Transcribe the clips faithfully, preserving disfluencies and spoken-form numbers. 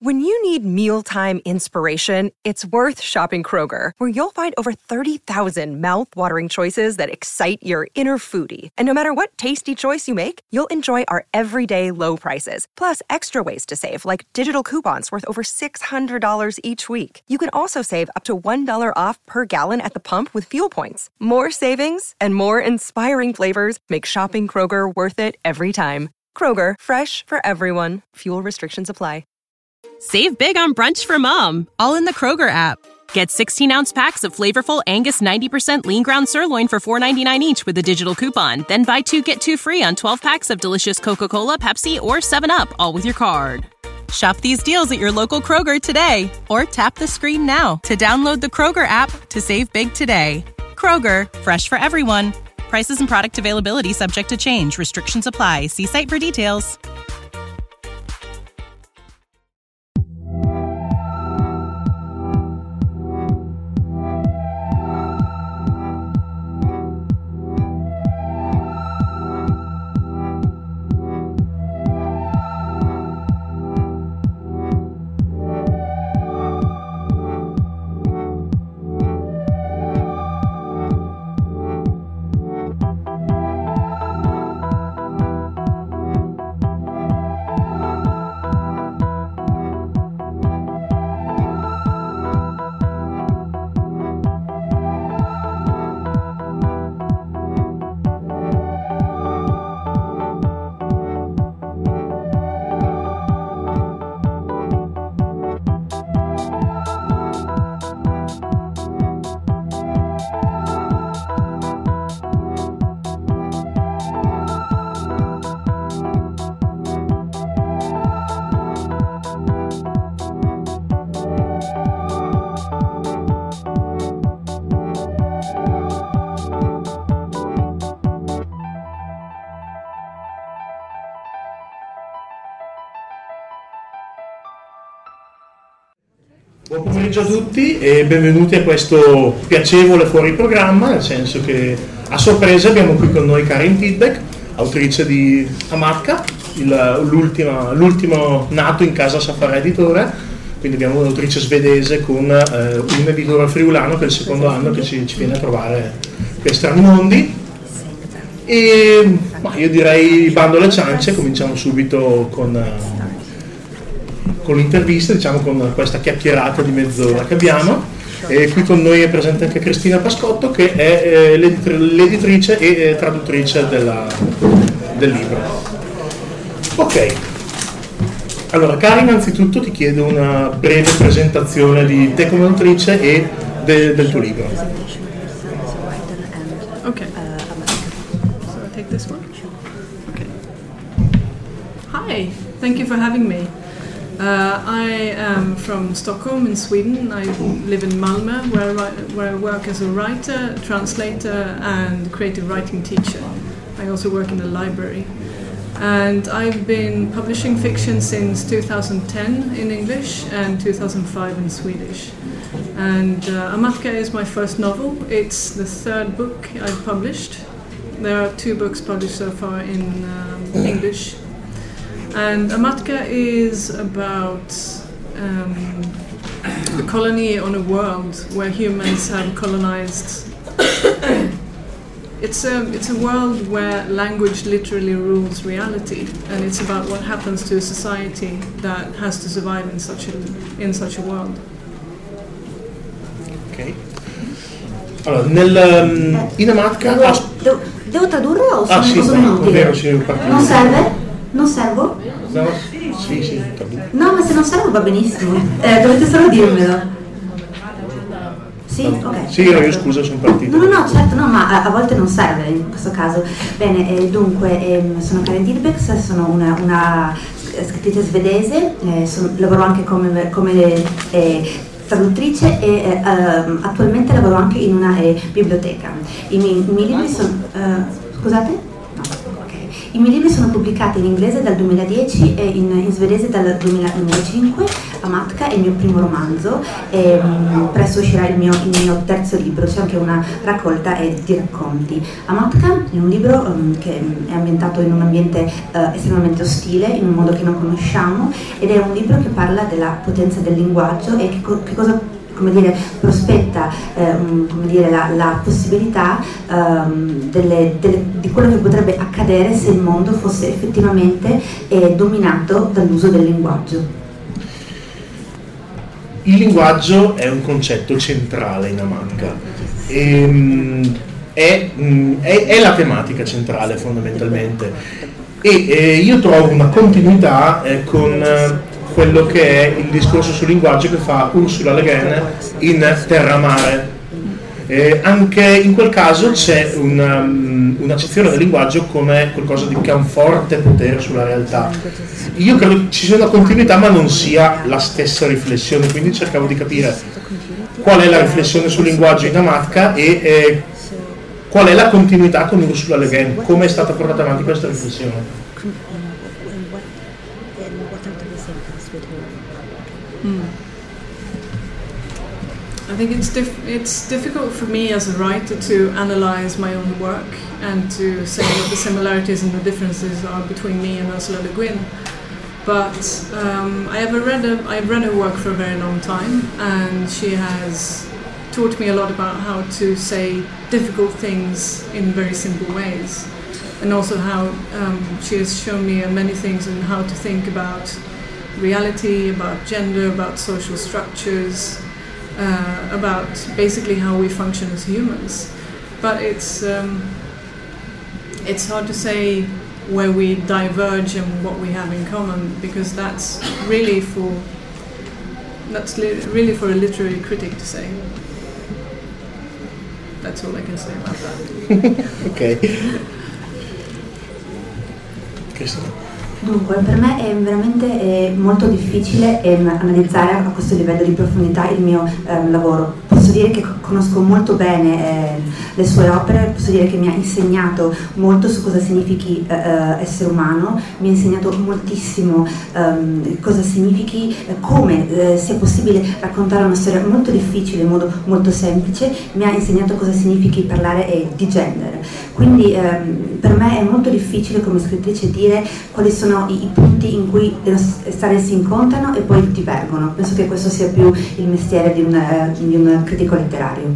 When you need mealtime inspiration, it's worth shopping Kroger, where you'll find over thirty thousand mouth-watering choices that excite your inner foodie. And no matter what tasty choice you make, you'll enjoy our everyday low prices, plus extra ways to save, like digital coupons worth over six hundred dollars each week. You can also save up to one dollar off per gallon at the pump with fuel points. More savings and more inspiring flavors make shopping Kroger worth it every time. Kroger, fresh for everyone. Fuel restrictions apply. Save big on brunch for mom, all in the Kroger app. Get sixteen-ounce packs of flavorful Angus ninety percent lean ground sirloin for four ninety-nine each with a digital coupon. Then buy two, get two free on twelve packs of delicious Coca-Cola, Pepsi, or seven up, all with your card. Shop these deals at your local Kroger today, or tap the screen now to download the Kroger app to save big today. Kroger, fresh for everyone. Prices and product availability subject to change. Restrictions apply. See site for details. Buon pomeriggio a tutti e benvenuti a questo piacevole fuori programma, nel senso che a sorpresa abbiamo qui con noi Karin Tidbeck, autrice di Amatka, il, l'ultimo nato in casa Safari Editore, quindi abbiamo un'autrice svedese con eh, un editore friulano che è il secondo anno che ci, ci viene a trovare qui a Strani Mondi. E ma io direi bando alle ciance, cominciamo subito con... con l'intervista, diciamo, con questa chiacchierata di mezz'ora che abbiamo. E qui con noi è presente anche Cristina Pascotto, che è eh, l'editri- l'editrice e eh, traduttrice della, del libro. Ok, allora Karin, innanzitutto ti chiedo una breve presentazione di te come autrice e de- del tuo libro. Ok, so I take this one? Okay. Hi, thank you for having me. Uh, I am from Stockholm in Sweden. I live in Malmö, where I, where I work as a writer, translator and creative writing teacher. I also work in the library. And I've been publishing fiction since two thousand ten in English and two thousand five in Swedish. And uh, Amatka is my first novel. It's the third book I've published. There are two books published so far in um, English. And Amatka is about um, a colony on a world where humans have colonized. It's a, it's a world where language literally rules reality, and it's about what happens to a society that has to survive in such a, in such a world. Ok. Allora, nel, in Amatka... Devo, devo, devo tradurre o ah, sono, sì, sono inutile? vero, sì, non serve? Non servo? No, sì, sì. No, ma se non servo va benissimo. Eh, dovete solo dirmelo. Sì? Ok. Sì, io scusa, sono partito. No, no, no, certo, no, ma a, a volte non serve in questo caso. Bene, eh, dunque, eh, sono Karin Tidbeck, sono una, una scrittrice svedese, eh, sono, lavoro anche come, come eh, traduttrice e eh, attualmente lavoro anche in una eh, biblioteca. I miei, i miei libri sono... Uh, scusate? No, ok. I miei libri sono pubblicati in inglese dal duemiladieci e in, in svedese dal duemilacinque. Amatka è il mio primo romanzo e um, presto uscirà il mio, il mio terzo libro, c'è anche una raccolta eh, di racconti. Amatka è un libro um, che è ambientato in un ambiente uh, estremamente ostile, in un mondo che non conosciamo, ed è un libro che parla della potenza del linguaggio e che, co- che cosa come dire, prospetta eh, um, come dire, la, la possibilità um, delle, delle, di quello che potrebbe accadere se il mondo fosse effettivamente eh, dominato dall'uso del linguaggio. Il linguaggio è un concetto centrale in Amatka, e, um, è, um, è, è la tematica centrale fondamentalmente, e eh, io trovo una continuità eh, con eh, quello che è il discorso sul linguaggio che fa Ursula Le Guin in Terra-Mare. Eh, anche in quel caso c'è una, um, un'accezione del linguaggio come qualcosa di, che ha un forte potere sulla realtà. Io credo che ci sia una continuità ma non sia la stessa riflessione, quindi cercavo di capire qual è la riflessione sul linguaggio in Amatka e eh, qual è la continuità con Ursula Le Guin, come è stata portata avanti questa riflessione. Mm. I think it's dif- it's difficult for me as a writer to analyze my own work and to say what the similarities and the differences are between me and Ursula Le Guin. But um, I have read a, I've read her work for a very long time, and she has taught me a lot about how to say difficult things in very simple ways, and also how um, she has shown me many things and how to think about reality, about gender, about social structures, uh, about basically how we function as humans. But it's um, it's hard to say where we diverge and what we have in common, because that's really for that's li- really for a literary critic to say. That's all I can say about that. Ok. Cristina. Dunque, per me è veramente è molto difficile ehm, analizzare a questo livello di profondità il mio ehm, lavoro. Posso dire che conosco molto bene eh, le sue opere, posso dire che mi ha insegnato molto su cosa significhi eh, essere umano, mi ha insegnato moltissimo ehm, cosa significhi, eh, come eh, sia possibile raccontare una storia molto difficile in modo molto semplice, mi ha insegnato cosa significhi parlare eh, di gender. Quindi ehm, per me è molto difficile come scrittrice dire quali sono I, i punti in cui le nostre storie si incontrano e poi divergono. Penso che questo sia più il mestiere di un, eh, di un critico letterario.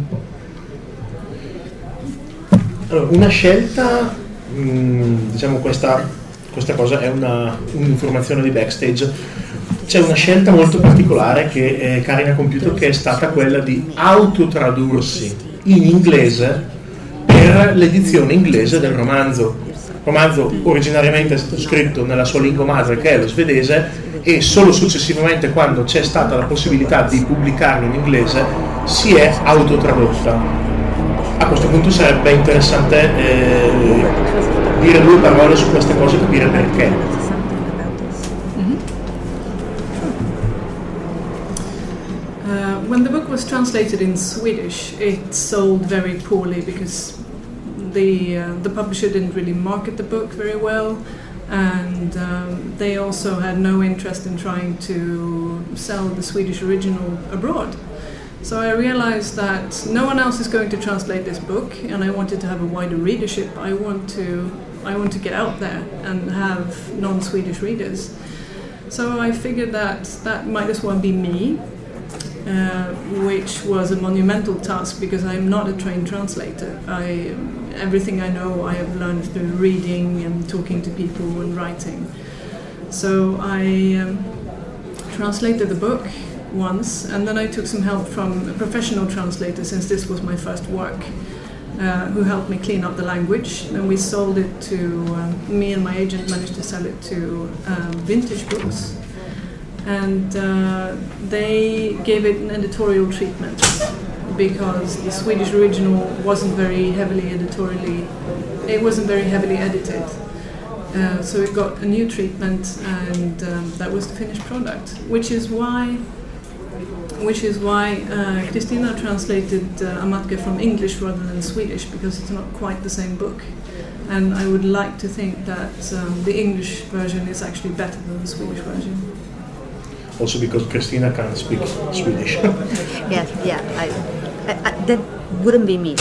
Allora, una scelta, mh, diciamo questa, questa cosa è una, un'informazione di backstage. C'è una scelta molto particolare che eh, Karin ha compiuto, che è stata quella di autotradursi in inglese per l'edizione inglese del romanzo. Il romanzo originariamente è stato scritto nella sua lingua madre, che è lo svedese, e solo successivamente, quando c'è stata la possibilità di pubblicarlo in inglese, si è autotradotta. A questo punto sarebbe interessante eh, dire due parole su queste cose e capire perché. Uh, when the book was translated in Swedish, it sold very poorly because The, uh, the publisher didn't really market the book very well, and um, they also had no interest in trying to sell the Swedish original abroad. So I realized that no one else is going to translate this book, and I wanted to have a wider readership. I want to I want to get out there and have non-Swedish readers. So I figured that that might as well be me, uh, which was a monumental task because I'm not a trained translator. I Everything I know I have learned through reading and talking to people and writing. So I um, translated the book once, and then I took some help from a professional translator, since this was my first work, uh, who helped me clean up the language. And we sold it to, um, me and my agent managed to sell it to um, Vintage Books. And uh, they gave it an editorial treatment, because the Swedish original wasn't very heavily editorially, it wasn't very heavily edited. Uh, so it got a new treatment, and um, that was the finished product, which is why which is why uh, Kristina translated uh, Amatka from English rather than Swedish, because it's not quite the same book. and I would like to think that um, the English version is actually better than the Swedish version. Also because Christina can't speak Swedish. Yes, yeah, I, I, I, that wouldn't be me.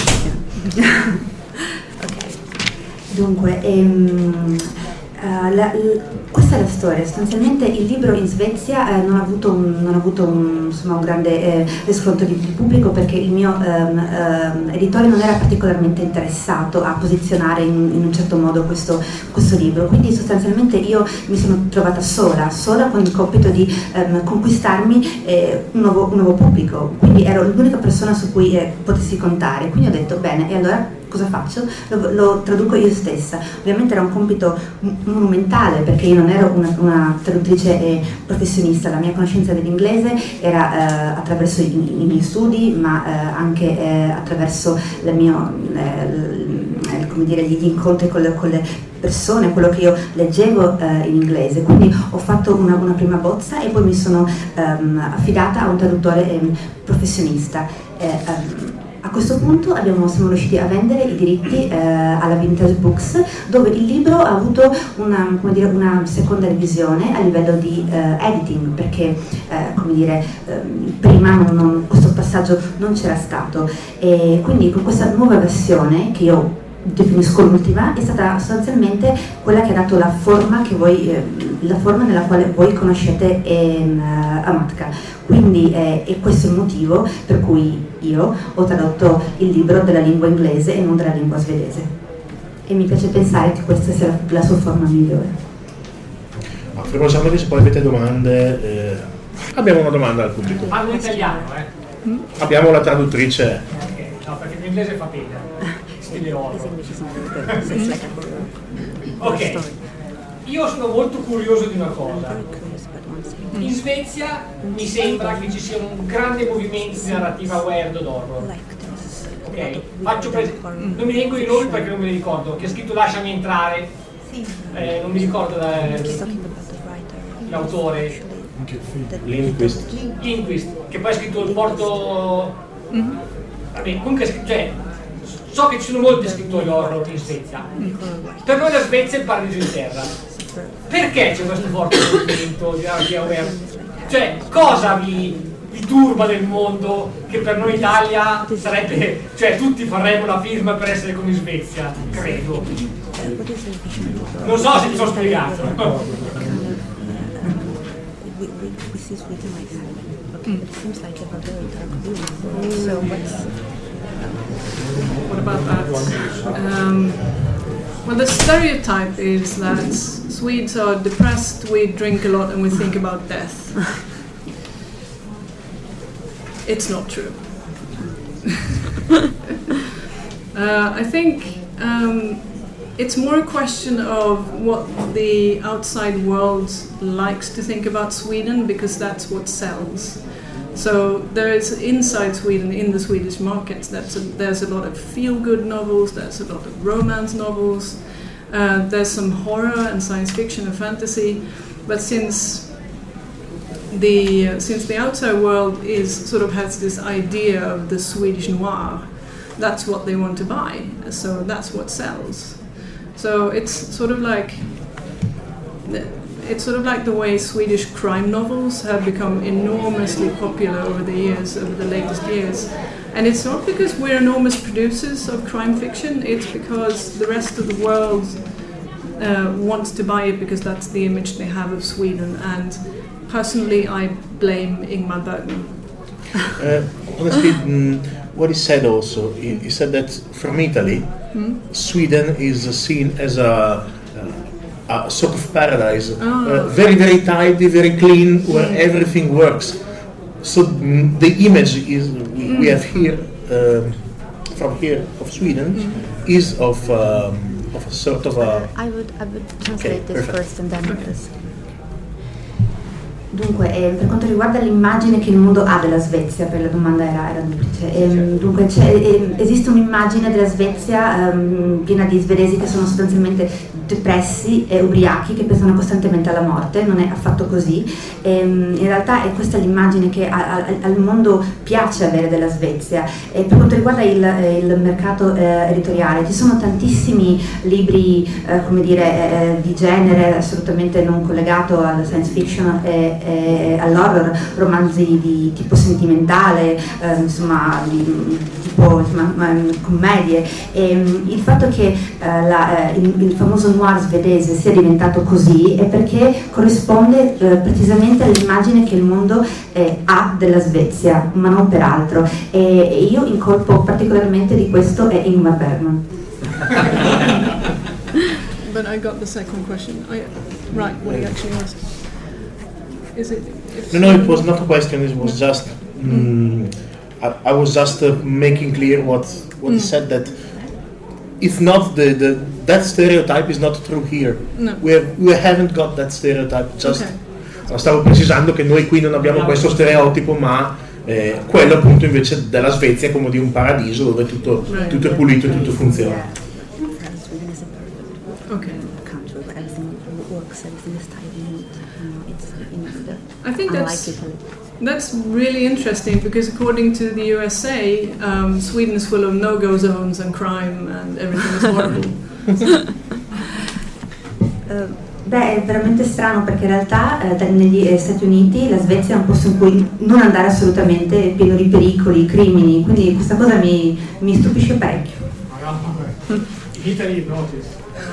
Ok, dunque, ehm, uh, la, l, questa è la storia. Sostanzialmente il libro in Svezia eh, non ha avuto un, non ha avuto un, insomma, un grande eh, riscontro di, di pubblico, perché il mio um, um, editore non era particolarmente interessato a posizionare in, in un certo modo questo, questo libro, quindi sostanzialmente io mi sono trovata sola, sola con il compito di um, conquistarmi eh, un, nuovo, un nuovo pubblico, quindi ero l'unica persona su cui eh, potessi contare, quindi ho detto bene, e allora cosa faccio? Lo, lo traduco io stessa. Ovviamente era un compito monumentale, perché io non ero una, una traduttrice eh, professionista, la mia conoscenza dell'inglese era eh, attraverso i, i miei studi, ma eh, anche eh, attraverso la mio, eh, come dire, gli incontri con le, con le persone, quello che io leggevo eh, in inglese. Quindi ho fatto una, una prima bozza e poi mi sono ehm, affidata a un traduttore eh, professionista. Eh, ehm, A questo punto abbiamo, siamo riusciti a vendere i diritti eh, alla Vintage Books, dove il libro ha avuto una, come dire, una seconda revisione a livello di eh, editing, perché eh, come dire, eh, prima non, non, questo passaggio non c'era stato, e quindi con questa nuova versione, che io definisco l'ultima, è stata sostanzialmente quella che ha dato la forma che voi, eh, la forma nella quale voi conoscete eh, Amatka. Quindi eh, è questo il motivo per cui io ho tradotto il libro della lingua inglese e non della lingua svedese, e mi piace pensare che questa sia la, la sua forma migliore. Ma famosamente, se poi avete domande, eh, abbiamo una domanda al pubblico. Parlo in italiano, eh? Mm? Abbiamo la traduttrice. Ok, no, perché l'inglese fa pena. Stile horror. Ok, io sono molto curioso di una cosa. In Svezia mi sembra che ci sia un grande movimento di narrativa weird horror. Ok? Faccio pres- non mi vengo i nomi perché non me li ricordo. Chi ha scritto Lasciami entrare, eh, non mi ricordo da, l'autore. Lindquist. Lindquist, che poi ha scritto Il porto. Vabbè, comunque, cioè, so che ci sono molti scrittori horror in Svezia. Per noi la Svezia è il paradiso in terra. Perché c'è questo forte movimento di narrativa weird? Cioè, cosa vi, vi turba del mondo che per noi Italia sarebbe... Cioè, tutti faremmo la firma per essere come in Svezia, credo. Non so se mi sono spiegato. What about that? Um, well, the stereotype is that Swedes are depressed, we drink a lot and we think about death. It's not true. uh, I think um, it's more a question of what the outside world likes to think about Sweden, because that's what sells. So there is inside Sweden, in the Swedish market, that's a, there's a lot of feel-good novels, there's a lot of romance novels, uh, there's some horror and science fiction and fantasy, but since the uh, since the outside world is sort of has this idea of the Swedish noir, that's what they want to buy, so that's what sells. So it's sort of like It's sort of like the way Swedish crime novels have become enormously popular over the years, over the latest years. And it's not because we're enormous producers of crime fiction, it's because the rest of the world uh, wants to buy it because that's the image they have of Sweden. And personally, I blame Ingmar Bergman. Uh, honestly, mm, what he said also, he, he said that from Italy, hmm? Sweden is seen as a a sort of paradise, oh. uh, very very tidy, very clean, where mm. everything works. So mm, the image is we, mm. we have here um, from here of Sweden mm. is of um, of a sort of a. I would I would translate okay, this perfect. first and then okay. this. Dunque, eh, per quanto riguarda l'immagine che il mondo ha della Svezia, per la domanda era, era duplice, ehm, dunque c'è, ehm, esiste un'immagine della Svezia ehm, piena di svedesi che sono sostanzialmente depressi e ubriachi, che pensano costantemente alla morte. Non è affatto così. Ehm, in realtà è questa l'immagine che a, a, al mondo piace avere della Svezia. E per quanto riguarda il, il mercato eh, editoriale, ci sono tantissimi libri eh, come dire, eh, di genere assolutamente non collegato alla science fiction e eh, all'horror, romanzi di tipo sentimentale, eh, insomma di tipo insomma, commedie, e il fatto che eh, la, eh, il, il famoso noir svedese sia diventato così è perché corrisponde eh, precisamente all'immagine che il mondo eh, ha della Svezia, ma non per altro, e, e io incolpo particolarmente di questo è Ingmar Bergman. But I got the second question. I, right, what he actually asked. Is it? No, no, it was not a question. It was just. Mm, I, I was just uh, making clear what what mm. he said, that it's not the, the that stereotype is not true here. No. We have, we haven't got that stereotype. Just. Okay. Stavo precisando che noi qui non abbiamo questo stereotipo, ma eh, quello appunto invece della Svezia è come di un paradiso dove tutto, right. tutto è pulito e tutto funziona. Okay. I think that's that's really interesting, because according to the U S A, um, Sweden is full of no-go zones and crime and everything is horrible. uh, beh, è veramente strano, perché in realtà eh, negli Stati Uniti la Svezia è un posto in cui non andare assolutamente, è pieno di pericoli, crimini, quindi questa cosa mi, mi stupisce parecchio. In Italy notice.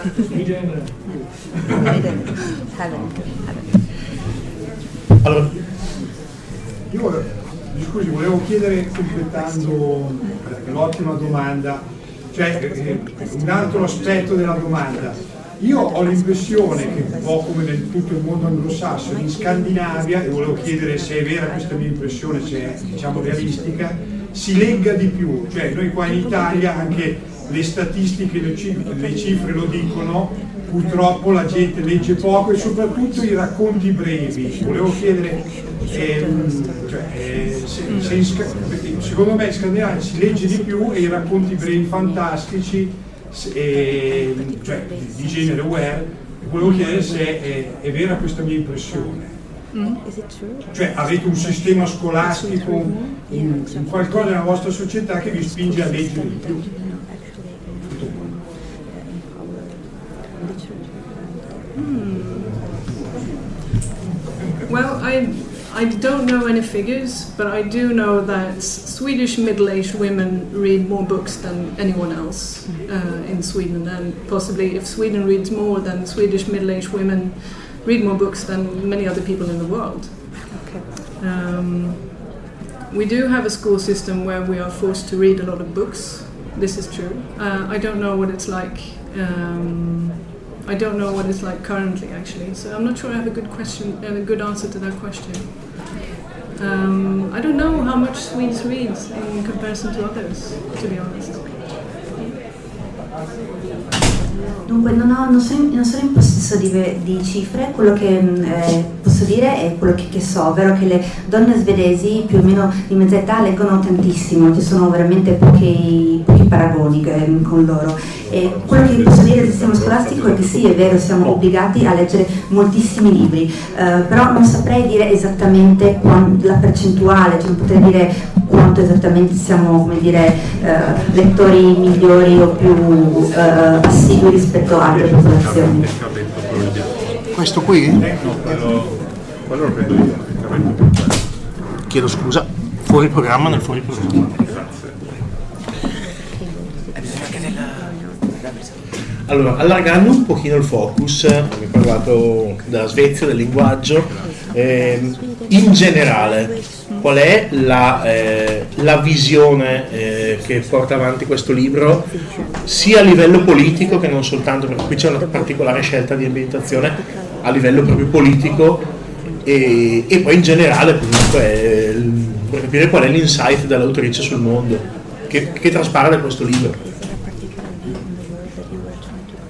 Allora, io scusi, volevo chiedere, completando l'ottima domanda, cioè eh, un altro aspetto della domanda. Io ho l'impressione che, un po' come nel tutto il mondo anglosassone, in Scandinavia, e volevo chiedere se è vera questa mia impressione, se è diciamo realistica, si legga di più. Cioè noi qua in Italia anche le statistiche, le cifre, le cifre lo dicono, purtroppo la gente legge poco e soprattutto i racconti brevi. Volevo chiedere, ehm, cioè, eh, se, se in, secondo me in Scandinavia si legge di più e i racconti brevi fantastici, eh, cioè di genere aware, volevo chiedere se è, è vera questa mia impressione. Mm. Cioè avete un sistema scolastico, un, un qualcosa nella vostra società che vi spinge a leggere di più. Well, I I don't know any figures, but I do know that Swedish middle-aged women read more books than anyone else uh, in Sweden, and possibly if Sweden reads more, then Swedish middle-aged women read more books than many other people in the world. Okay. Um, we do have a school system where we are forced to read a lot of books. This is true. Uh, I don't know what it's like. Um, I don't know what it's like currently, actually. So I'm not sure I have a good question and a good answer to that question. Um, I don't know how much Swedes read in comparison to others, to be honest. Dunque non, ho, non, sono, non sono in possesso di, di cifre, quello che eh, posso dire è quello che, che so, ovvero che le donne svedesi più o meno di mezza età leggono tantissimo, ci sono veramente pochi, pochi paragoni eh, con loro. E quello che posso dire del sistema scolastico è che sì, è vero, siamo obbligati a leggere moltissimi libri, eh, però non saprei dire esattamente quant, la percentuale, cioè non potrei dire quanto esattamente siamo, come dire, eh, lettori migliori o più eh, assidui rispetto a altre popolazioni. Questo qui? No, quello, quello lo prendo io. Chiedo scusa, fuori programma nel fuori programma. Allora, allargando un pochino il focus, abbiamo parlato della Svezia, del linguaggio, eh, in generale, qual è la, eh, la visione eh, che porta avanti questo libro, sia a livello politico che non soltanto, perché qui c'è una particolare scelta di ambientazione, a livello proprio politico, e, e poi in generale comunque eh, per capire qual è l'insight dell'autrice sul mondo, che, che traspare da questo libro.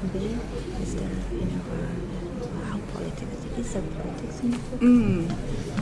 Mm.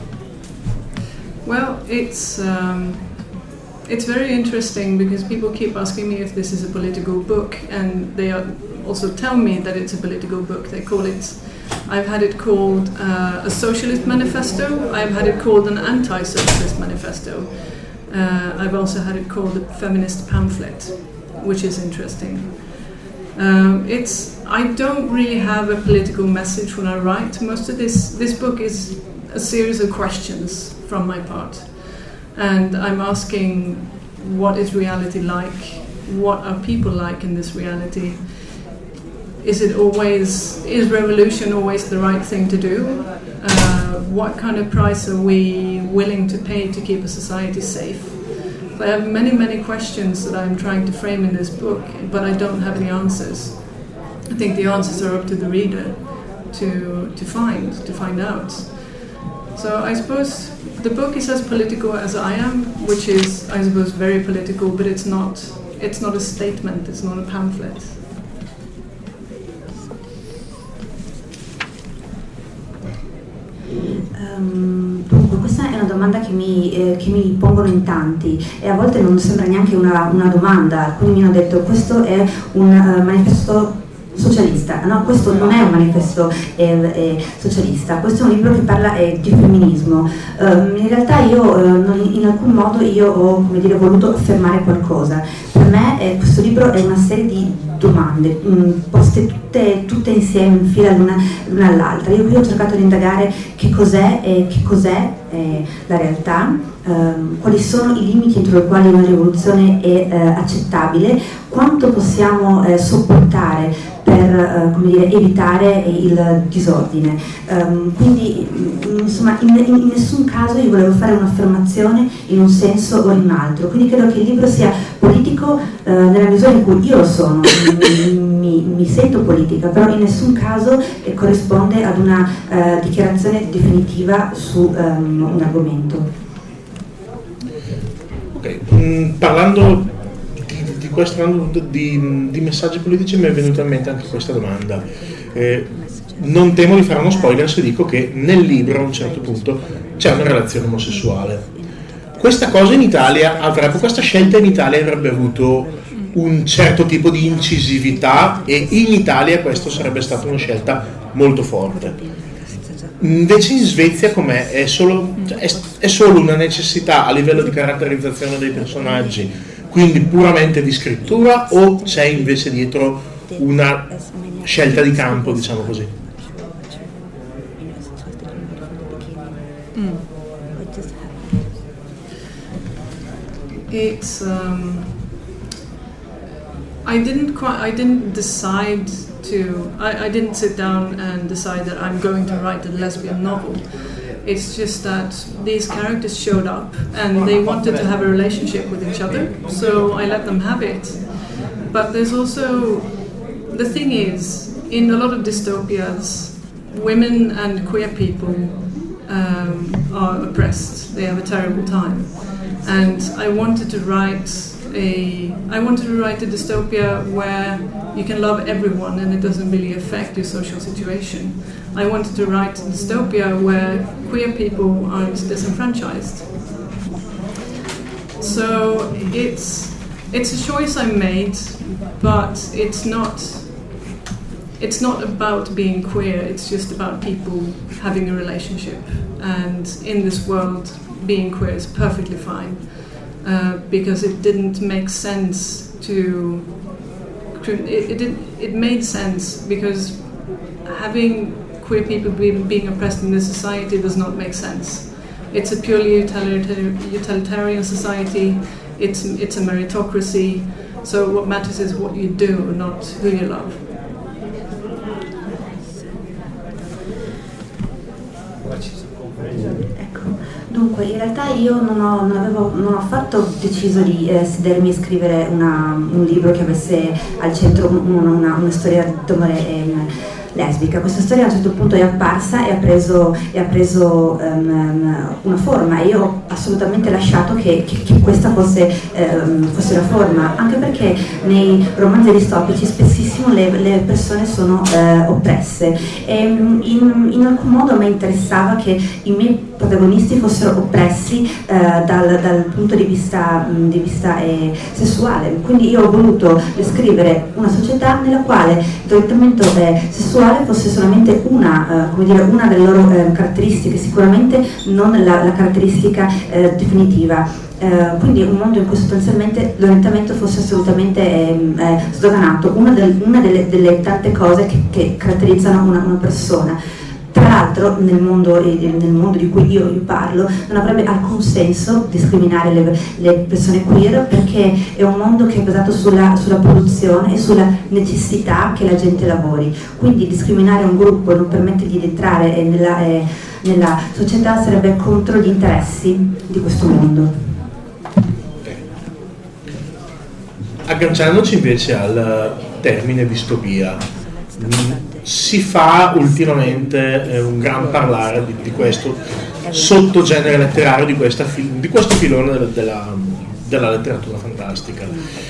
Well, it's um, it's very interesting because people keep asking me if this is a political book, and they are also tell me that it's a political book. They call it, I've had it called uh, a socialist manifesto, I've had it called an anti-socialist manifesto, uh, I've also had it called a feminist pamphlet, which is interesting. Um, it's I don't really have a political message when I write. Most of this this book is a series of questions from my part, and I'm asking, what is reality like? What are people like in this reality? Is it always is revolution always the right thing to do? Uh, what kind of price are we willing to pay to keep a society safe? I have many, many questions that I'm trying to frame in this book, but I don't have the answers. I think the answers are up to the reader to to find, to find out. So I suppose the book is as political as I am, which is, I suppose, very political, but it's not, it's not a statement, it's not a pamphlet. Um, dunque, questa è una domanda che mi, eh, che mi pongono in tanti e a volte non sembra neanche una, una domanda. Alcuni mi hanno detto questo è un uh, manifesto socialista. No, questo non è un manifesto eh, eh, socialista, questo è un libro che parla eh, di femminismo. Um, in realtà io eh, non, in alcun modo io ho, come dire, voluto affermare qualcosa. Per me eh, questo libro è una serie di domande mh, poste tutte, tutte insieme in fila l'una, l'una all'altra. Io qui ho cercato di indagare che cos'è e che cos'è eh, la realtà, ehm, quali sono i limiti entro i quali una rivoluzione è eh, accettabile, quanto possiamo eh, sopportare per eh, come dire, evitare il disordine. Um, quindi insomma in, in, in nessun caso io volevo fare un'affermazione in un senso o in un altro, quindi credo che il libro sia politico eh, nella misura in cui io lo sono, mi, mi, mi sento politica, però in nessun caso eh, corrisponde ad una eh, dichiarazione definitiva su um, un argomento. Ok, mm, parlando di, di questo di, di messaggi politici mi è venuta in mente anche questa domanda. Eh, non temo di fare uno spoiler se dico che nel libro a un certo punto c'è una relazione omosessuale. Questa cosa in Italia avrebbe, questa scelta in Italia avrebbe avuto un certo tipo di incisività e in Italia questo sarebbe stata una scelta molto forte. Invece in Svezia com'è? È solo, è, è solo una necessità a livello di caratterizzazione dei personaggi, quindi puramente di scrittura, o c'è invece dietro una scelta di campo, diciamo così? Mm. It's um, I didn't quite I didn't decide to I, I didn't sit down and decide that I'm going to write a lesbian novel. It's just that these characters showed up and they wanted to have a relationship with each other, so I let them have it. But there's also, the thing is, in a lot of dystopias, women and queer people um, are oppressed. They have a terrible time. And I wanted to write a I wanted to write a dystopia where you can love everyone and it doesn't really affect your social situation. I wanted to write a dystopia where queer people aren't disenfranchised. So it's it's a choice I made, but it's not it's not about being queer, it's just about people having a relationship. And in this world, being queer is perfectly fine, uh, because it didn't make sense to it, it did it made sense because having queer people being, being oppressed in this society does not make sense. It's a purely utilitarian, utilitarian society. It's it's a meritocracy. So what matters is what you do, not who you love. Dunque, in realtà io non ho, non avevo, non ho affatto deciso di eh, sedermi e scrivere una, un libro che avesse al centro una, una, una storia d'amore eh, lesbica. Questa storia a un certo punto è apparsa e ha preso, e ha preso um, una forma, e io ho assolutamente lasciato che, che, che questa fosse, um, fosse la forma, anche perché nei romanzi distopici spessissimo le, le persone sono uh, oppresse e in, in alcun modo a me interessava che i miei protagonisti fossero oppressi eh, dal, dal punto di vista, mh, di vista eh, sessuale. Quindi io ho voluto descrivere una società nella quale il trattamento eh, sessuale fosse solamente una, eh, come dire, una delle loro eh, caratteristiche, sicuramente non la, la caratteristica eh, definitiva. Uh, quindi un mondo in cui sostanzialmente l'orientamento fosse assolutamente eh, eh, sdoganato, una, del, una delle, delle tante cose che, che caratterizzano una, una persona. Tra l'altro nel mondo, eh, nel mondo di cui io, io parlo non avrebbe alcun senso discriminare le, le persone queer, perché è un mondo che è basato sulla, sulla produzione e sulla necessità che la gente lavori. Quindi discriminare un gruppo e non permettergli di entrare eh, nella, eh, nella società sarebbe contro gli interessi di questo mondo. Agganciandoci invece al termine distopia, si fa ultimamente eh, un gran parlare di, di questo sottogenere letterario, di, questa, di questo filone della, della, della letteratura fantastica.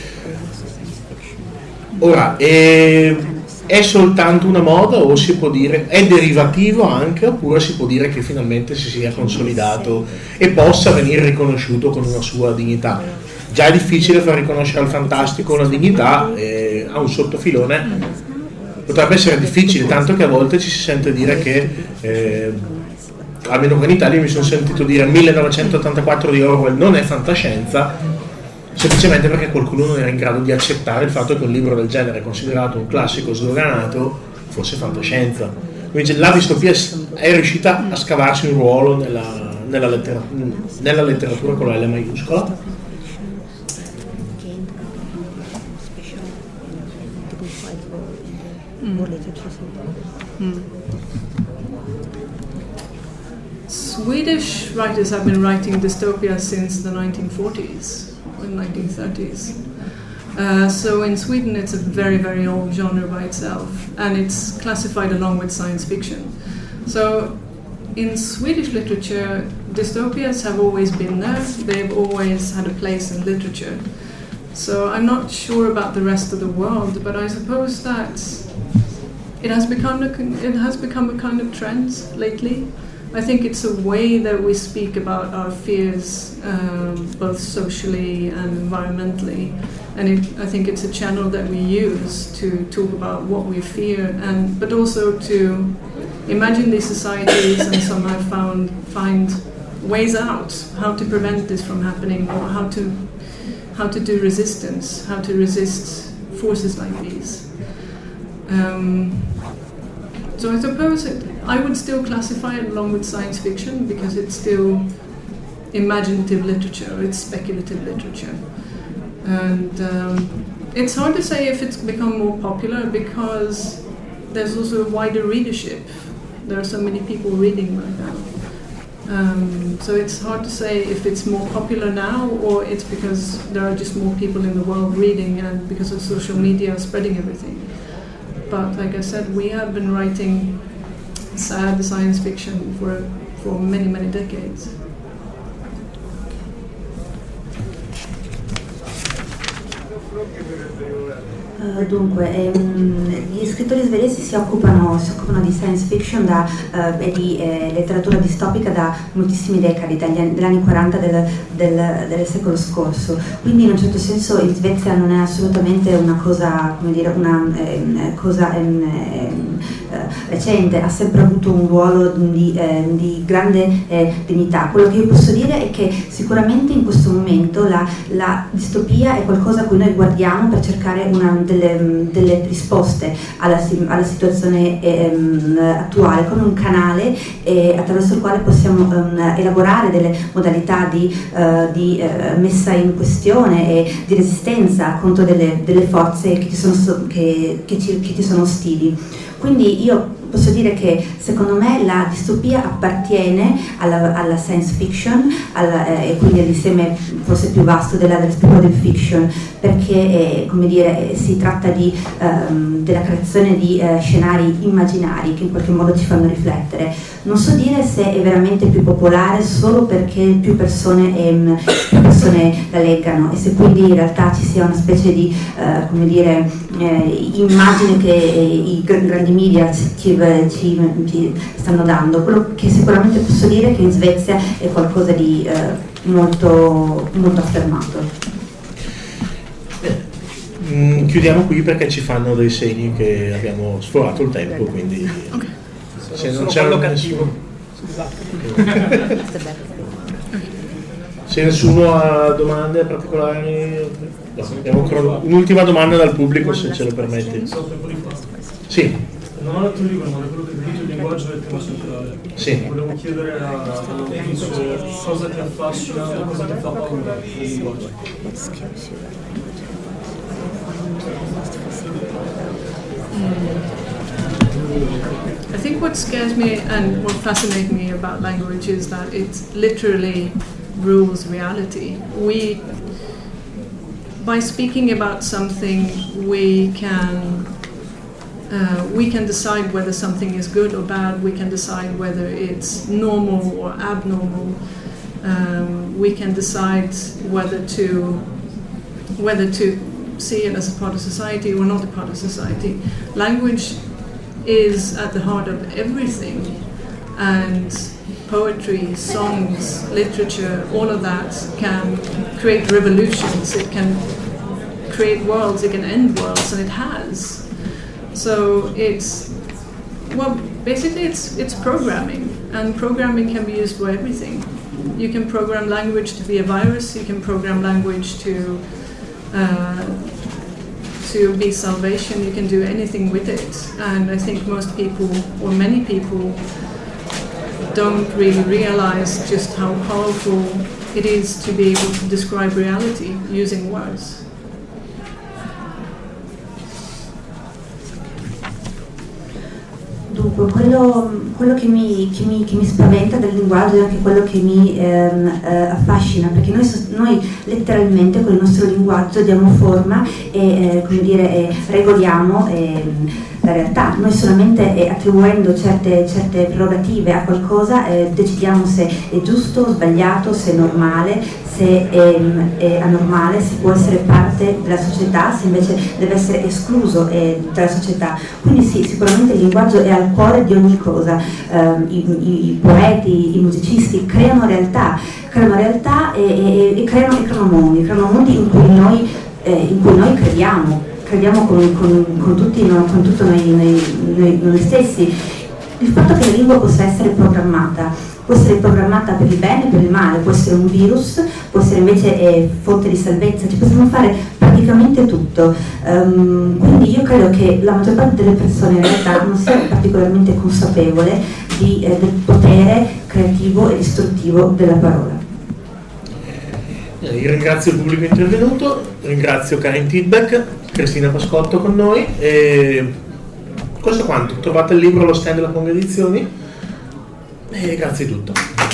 Ora, è, è soltanto una moda, o si può dire è derivativo anche, oppure si può dire che finalmente si sia consolidato e possa venire riconosciuto con una sua dignità? Già è difficile far riconoscere al fantastico una dignità, eh, a un sottofilone potrebbe essere difficile, tanto che a volte ci si sente dire che, eh, almeno qua in Italia mi sono sentito dire millenovecentottantaquattro di Orwell non è fantascienza, semplicemente perché qualcuno non era in grado di accettare il fatto che un libro del genere, considerato un classico sdoganato, fosse fantascienza. Invece la distopia è riuscita a scavarsi un ruolo nella, nella, lettera, nella letteratura con la L maiuscola. Mm. Swedish writers have been writing dystopia since the nineteen forties or nineteen thirties. Uh, so in Sweden it's a very, very old genre by itself, and it's classified along with science fiction. So in Swedish literature, dystopias have always been there. They've always had a place in literature. So I'm not sure about the rest of the world, but I suppose that it has become a, it has become a kind of trend lately. I think it's a way that we speak about our fears, um, both socially and environmentally, and it, I think it's a channel that we use to talk about what we fear, and but also to imagine these societies and somehow found find ways out, how to prevent this from happening, or how to how to do resistance, how to resist forces like these. Um, so I suppose it, I would still classify it along with science fiction, because it's still imaginative literature, it's speculative literature. And um, it's hard to say if it's become more popular, because there's also a wider readership. There are so many people reading right now. Um, so it's hard to say if it's more popular now, or it's because there are just more people in the world reading, and because of social media spreading everything. But like I said, we have been writing sad science fiction for for many, many decades. Uh, dunque, ehm, gli scrittori svedesi si occupano, si occupano di science fiction da, uh, e di eh, letteratura distopica da moltissimi decadi, dagli anni, dagli anni quaranta del, del, del secolo scorso. Quindi in un certo senso in Svezia non è assolutamente una cosa, come dire, una eh, cosa eh, eh, recente, ha sempre avuto un ruolo di, eh, di grande eh, dignità. Quello che io posso dire è che sicuramente in questo momento la, la distopia è qualcosa a cui noi guardiamo per cercare una Delle, delle risposte alla, alla situazione ehm, attuale, come un canale eh, attraverso il quale possiamo ehm, elaborare delle modalità di, eh, di eh, messa in questione e di resistenza contro delle, delle forze che ci sono, che, che ci, che ci sono ostili. Quindi io posso dire che secondo me la distopia appartiene alla, alla science fiction, alla, eh, e quindi all'insieme forse più vasto della, della speculative fiction, perché eh, come dire, si tratta di, ehm, della creazione di eh, scenari immaginari che in qualche modo ci fanno riflettere. Non so dire se è veramente più popolare solo perché più persone, ehm, più persone la leggano e se quindi in realtà ci sia una specie di eh, come dire, eh, immagine che eh, i grandi media ci, ci, ci stanno dando. Quello che sicuramente posso dire è che in Svezia è qualcosa di eh, molto, molto affermato. Mm, chiudiamo qui perché ci fanno dei segni che abbiamo sforato il tempo, quindi Okay. se non c'è un nessuno, se nessuno ha domande particolari, no, abbiamo ancora un'ultima domanda dal pubblico, se ce lo permetti. Sì. Non ho letto il libro, ma da quello che ho capito il linguaggio è il tema centrale. Sì. Volevo chiedere all'autrice cosa ti affascina o cosa ti fa paura del linguaggio. I think what scares me and what fascinates me about language is that it literally rules reality. We, by speaking about something, we can uh, we can decide whether something is good or bad. We can decide whether it's normal or abnormal. Um, we can decide whether to whether to see it as a part of society or not a part of society. Language is at the heart of everything, and poetry, songs, literature, all of that can create revolutions, it can create worlds, it can end worlds, and it has. So it's, well, basically it's it's programming, and programming can be used for everything. You can program language to be a virus, you can program language to uh, to be salvation, you can do anything with it. And I think most people, or many people, don't really realize just how powerful it is to be able to describe reality using words. Dunque, quello, quello che, mi, che, mi, che mi spaventa del linguaggio è anche quello che mi ehm, eh, affascina, perché noi, noi letteralmente con il nostro linguaggio diamo forma e eh, come dire, eh, regoliamo eh, la realtà. Noi solamente eh, attribuendo certe, certe prerogative a qualcosa eh, decidiamo se è giusto o sbagliato, se è normale, se è, è anormale, se può essere parte della società, se invece deve essere escluso eh, dalla società. Quindi sì, sicuramente il linguaggio è al cuore di ogni cosa. Eh, i, i, i poeti, i musicisti creano realtà, creano realtà e, e, e, creano, e creano mondi, creano mondi in cui noi, eh, in cui noi crediamo, crediamo con, con, con, tutti, no, con tutto noi, noi, noi, noi stessi. Il fatto che la lingua possa essere programmata, può essere programmata per il bene e per il male, può essere un virus, può essere invece eh, fonte di salvezza, ci possiamo fare praticamente tutto. Um, quindi io credo che la maggior parte delle persone in realtà non sia particolarmente consapevole di, eh, del potere creativo e distruttivo della parola. Io ringrazio il pubblico intervenuto, ringrazio Karin Tidbeck, Cristina Pascotto con noi e questo quanto. Trovate il libro allo stand della Ponga Edizioni e grazie di tutto.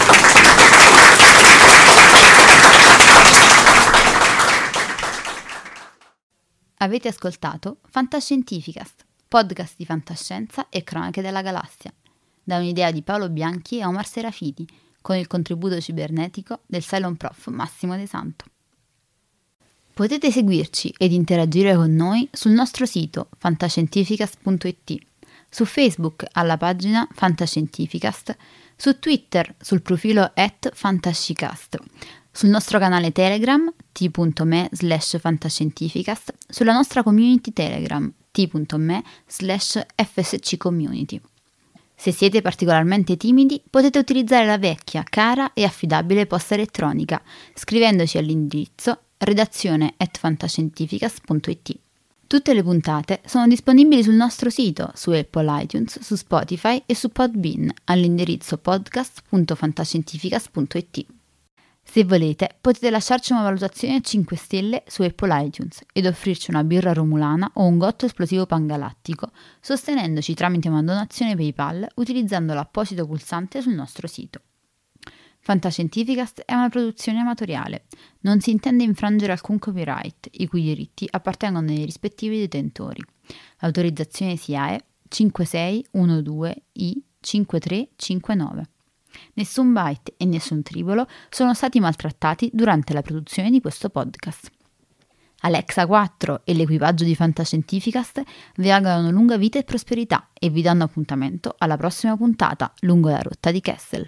Avete ascoltato Fantascientificast, podcast di fantascienza e cronache della galassia, da un'idea di Paolo Bianchi e Omar Serafiti, con il contributo cibernetico del Cylon Prof Massimo De Santo. Potete seguirci ed interagire con noi sul nostro sito fantascientificast punto it, su Facebook alla pagina Fantascientificast, su Twitter sul profilo at fantascicast, sul nostro canale Telegram t.me slash fantascientificast, sulla nostra community Telegram t.me slash fsccommunity. Se siete particolarmente timidi, potete utilizzare la vecchia, cara e affidabile posta elettronica, scrivendoci all'indirizzo redazione at fantascientificast punto it. Tutte le puntate sono disponibili sul nostro sito, su Apple iTunes, su Spotify e su Podbean, all'indirizzo podcast punto fantascientificast punto it. Se volete, potete lasciarci una valutazione a cinque stelle su Apple iTunes ed offrirci una birra romulana o un gotto esplosivo pangalattico, sostenendoci tramite una donazione PayPal utilizzando l'apposito pulsante sul nostro sito. Fantascientificast è una produzione amatoriale, non si intende infrangere alcun copyright, i cui diritti appartengono ai rispettivi detentori. L'autorizzazione S I A E cinque sei uno due I cinque tre cinque nove. Nessun byte e nessun tribolo sono stati maltrattati durante la produzione di questo podcast. Alexa quattro e l'equipaggio di Fantascientificast vi augurano lunga vita e prosperità e vi danno appuntamento alla prossima puntata lungo la rotta di Kessel.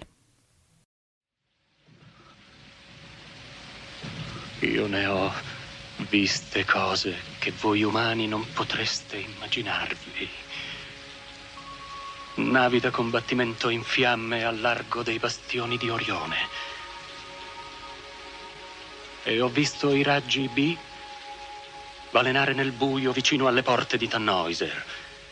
Io ne ho viste cose che voi umani non potreste immaginarvi. Navi da combattimento in fiamme al largo dei bastioni di Orione. E ho visto i raggi B balenare nel buio vicino alle porte di Tannhäuser.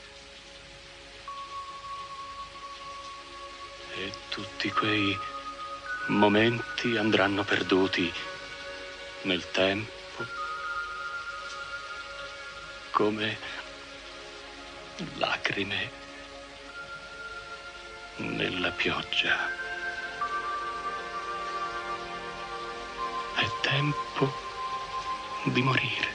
E tutti quei momenti andranno perduti nel tempo, come lacrime nella pioggia. È tempo di morire.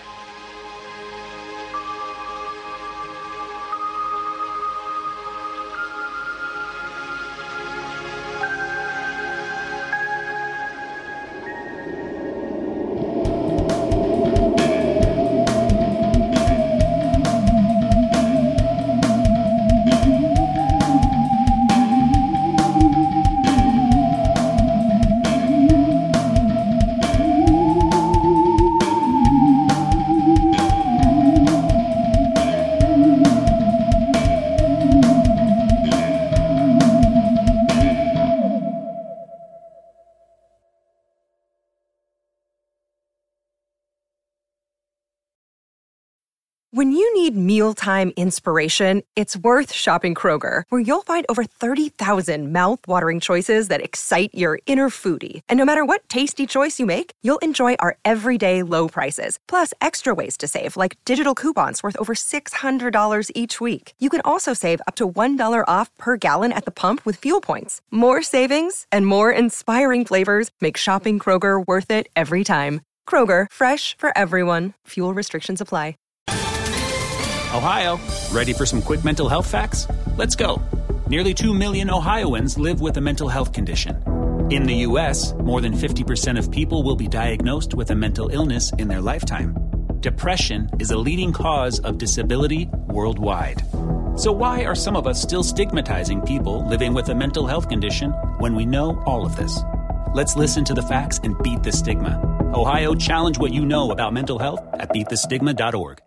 When you need mealtime inspiration, it's worth shopping Kroger, where you'll find over thirty thousand mouth-watering choices that excite your inner foodie. And no matter what tasty choice you make, you'll enjoy our everyday low prices, plus extra ways to save, like digital coupons worth over six hundred dollars each week. You can also save up to one dollar off per gallon at the pump with fuel points. More savings and more inspiring flavors make shopping Kroger worth it every time. Kroger, fresh for everyone. Fuel restrictions apply. Ohio, ready for some quick mental health facts? Let's go. Nearly two million Ohioans live with a mental health condition. In the U S, more than fifty percent of people will be diagnosed with a mental illness in their lifetime. Depression is a leading cause of disability worldwide. So why are some of us still stigmatizing people living with a mental health condition when we know all of this? Let's listen to the facts and beat the stigma. Ohio, challenge what you know about mental health at beat the stigma dot org.